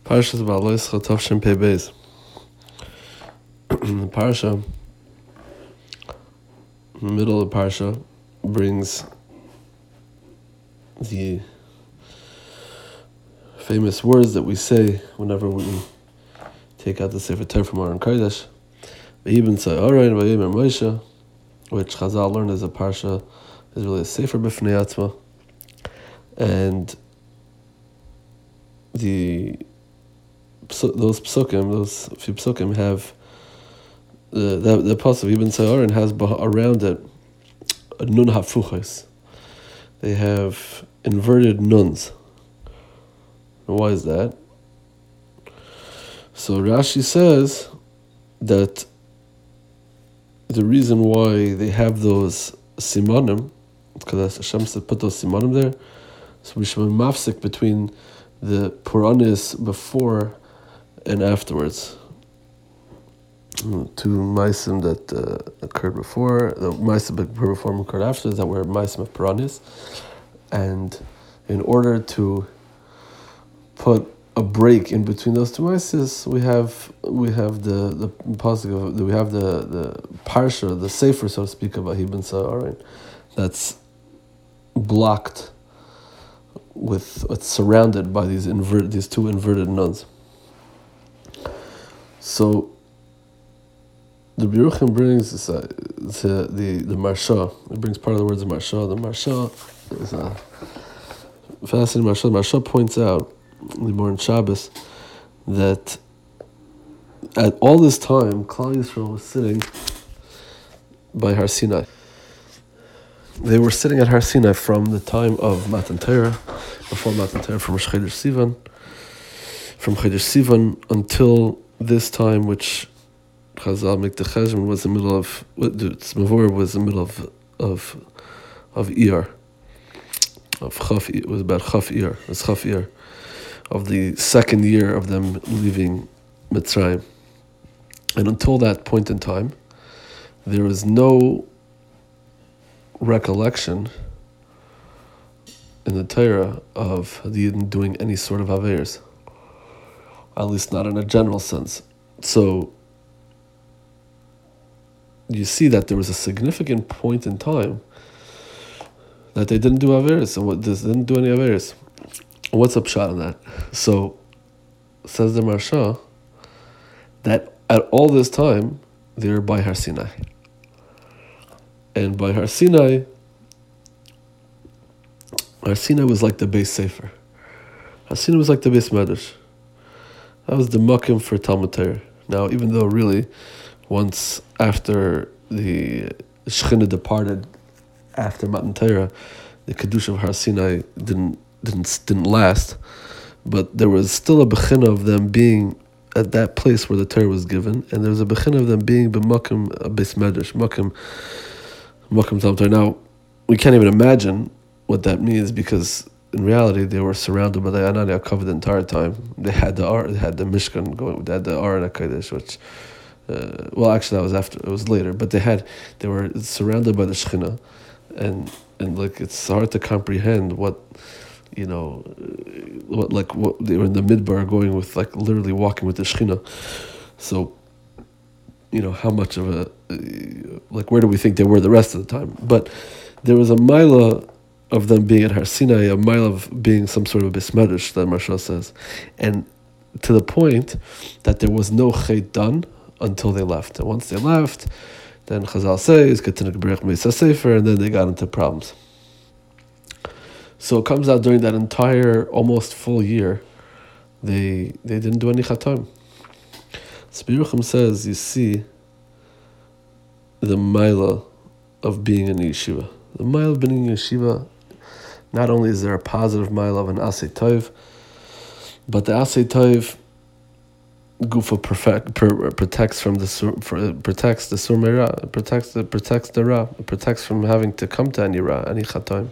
Parshas Ba'aloischa Tavshin Pei Beis. The parsha, in the middle of the parsha, brings the famous words that we say whenever we take out the Sefer Torah from Aron Kodesh. V'yibn Aaron v'yimer Moshe, which Chazal learned as a parsha is really a Sefer B'fnei Atzma, and those few psukim have the pasuk Ibn Aaron has around it a nun hafuchos. They have inverted nuns. And why is that? So Rashi says that the reason why they have those simanim, because Hashem said put those simanim there, so we should be mafsik between the Puranis before and afterwards. Two Maisim that occurred before, the Maisim that occurred before and occurred after, that were Maisim of Puranis. And in order to put a break in between those two Maisis, we have the pasuk, we have the parsha, the sefer, so to speak, of Ibn Aaron, that's blocked with, it's surrounded by these two inverted nuns. So the Biruchim brings the Marsha. It brings part of the words of Marsha. The Marsha is a fascinating Marsha. The Marsha points out, the morning Shabbos, that at all this time, Klal Yisrael was sitting by Har Sinai. They were sitting at Har Sinai from the time of Matan Torah, before Matan Torah, from Rosh Chodesh Sivan, from Chodesh Sivan until this time, which Chazal make the cheshbon was the middle of Tzmavor was the middle of Iyar, of Chaf. It was about Chaf Iyar. It was Chaf Iyar of the second year of them leaving Mitzrayim, and until that point in time, there was no recollection in the Torah of the Yidden doing any sort of Averos, at least not in a general sense. So you see that there was a significant point in time that they didn't do Averos, and they didn't do any Averos. What's up shot on that? So says the Marsha that at all this time they were by Har Sinai. And by Har Sinai was like the base sefer. Har Sinai was like the base medrash. That was the makim for Talmud Torah. Now, even though really, once after the Shechina departed after Matan Torah, the kedusha of Har Sinai didn't last, but there was still a bechina of them being at that place where the Torah was given, and there was a bechina of them being b'makim base medrash, makim Talmud Torah. Now, we can't even imagine what that means, because in reality they were surrounded by the Anania covered the entire time. They had the Mishkan going, they had the Aron HaKodesh, which well, actually that was after, it was later, but they were surrounded by the Shechina, and like it's hard to comprehend what they were in the Midbar going with, like literally walking with the Shechina. So how much of a where do we think they were the rest of the time? But there was a mila of them being at Har Sinai, a mile of being some sort of bismedish, that Marsha says, and to the point that there was no chet done until they left. And once they left, then Chazal says, and then they got into problems. So it comes out during that entire almost full year, they didn't do any chatam. So Biruchim says, you see the mila of being in yeshiva. The mile of being in yeshiva, not only is there a positive mile of an asay tov, but the asay tov gufa protects from the protects the surmeira, protects the ra, protects from having to come to any ra, any chatam.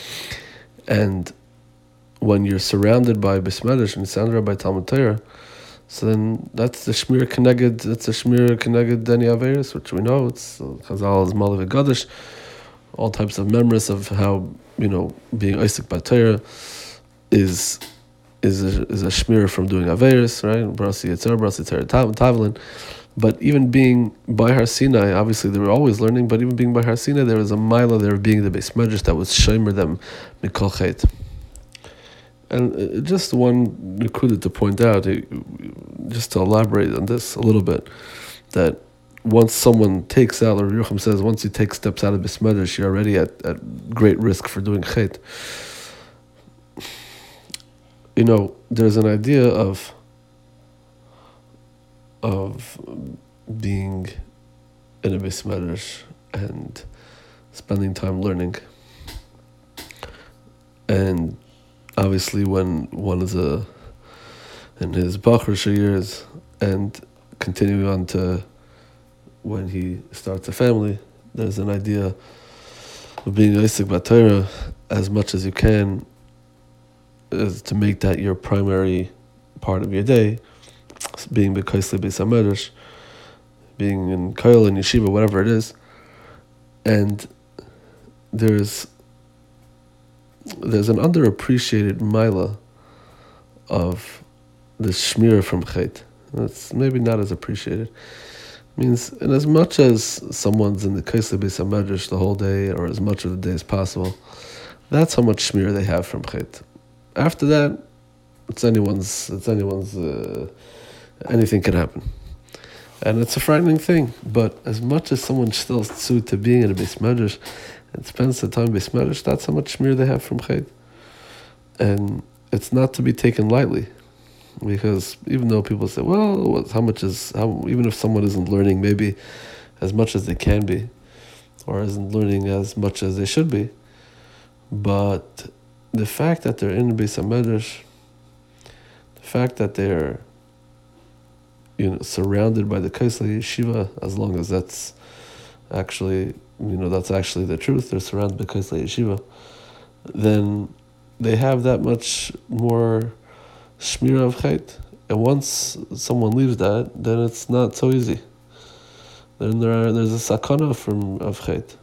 And when you're surrounded by bismedish and surrounded by Talmud Torah, so then that's the shmir keneged. That's the shmir keneged deni averis, which we know it's Chazal is malav v'gadish. All types of memories of how being Isaac by Torah is is a shmir from doing averis, right? Brasi Yitzhar, Brasi Tavlin. But even being by Har Sinai, obviously they were always learning, but even being by Har Sinai, there was a mila there being the Beis Medrash that was shomer them mikol chet. And just one nekuda to point out, just to elaborate on this a little bit, that once someone takes out, or Yerucham says, once you take steps out of Beis Medrash, you're already at great risk for doing chet. There's an idea of being in a Beis Medrash and spending time learning. And obviously when one is in his Bachrish years and continuing on to when he starts a family, there's an idea of being Isaac Batera as much as you can, is to make that your primary part of your day, being B'Kaisli Beis HaMedrash, being in Koil and Yeshiva, whatever it is. And there's an underappreciated mila of the shmir from chet. It's maybe not as appreciated. It means, in as much as someone's in the Kaisli Beis HaMedrash the whole day, or as much of the day as possible, that's how much shmir they have from chet. After that, anything can happen. And it's a frightening thing, but as much as someone's still suited to being in a Beis Medrash and spends the time in Beis Medrash, that's how much shmir they have from chet. And it's not to be taken lightly, because even though people say, well, even if someone isn't learning maybe as much as they can be, or isn't learning as much as they should be, but the fact that they're in Beis HaMedrash, the fact that they're surrounded by the Kaisli Yeshiva, as long as that's actually the truth, they're surrounded by Kaisli Yeshiva, then they have that much more shmira of chet. And once someone leaves that, then it's not so easy. Then there's a sakana of chet.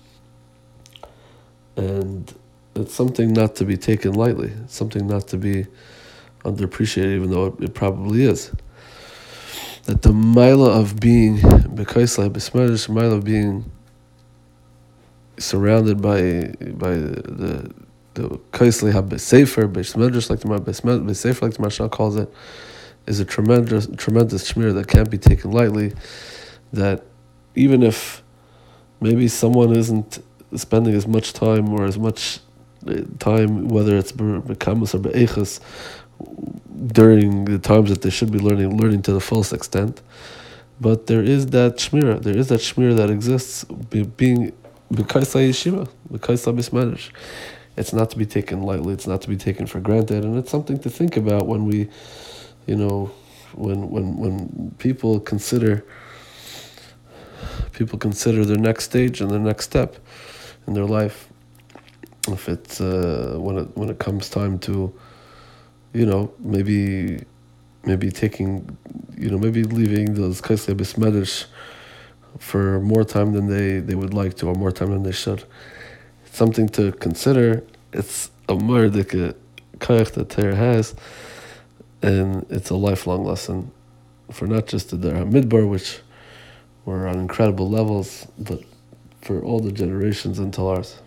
And it's something not to be taken lightly. It's something not to be underappreciated, even though it probably is. That the mila of being b'kaisla Beis Medrash, mila of being surrounded by the kaisli ha-besefer Beis Medrash, like the besefer, like the Mashal calls it, is a tremendous shmir that can't be taken lightly. That even if maybe someone isn't spending as much time or as much time, whether it's b'kamus or b'eichas, during the times that they should be learning to the fullest extent, but there is that shmira. There is that shmira that exists, being b'kaisla yeshiva, b'kaisla Beis Medrash. It's not to be taken lightly. It's not to be taken for granted, and it's something to think about when we, when people consider their next stage and their next step in their life. If it's when it comes time to, maybe taking, maybe leaving those Kaisli Beis Medrash for more time than they would like to, or more time than they should. It's something to consider. It's a mardika kayach that Torah has, and it's a lifelong lesson for not just the Dar HaMidbar, which were on incredible levels, but for all the generations until ours.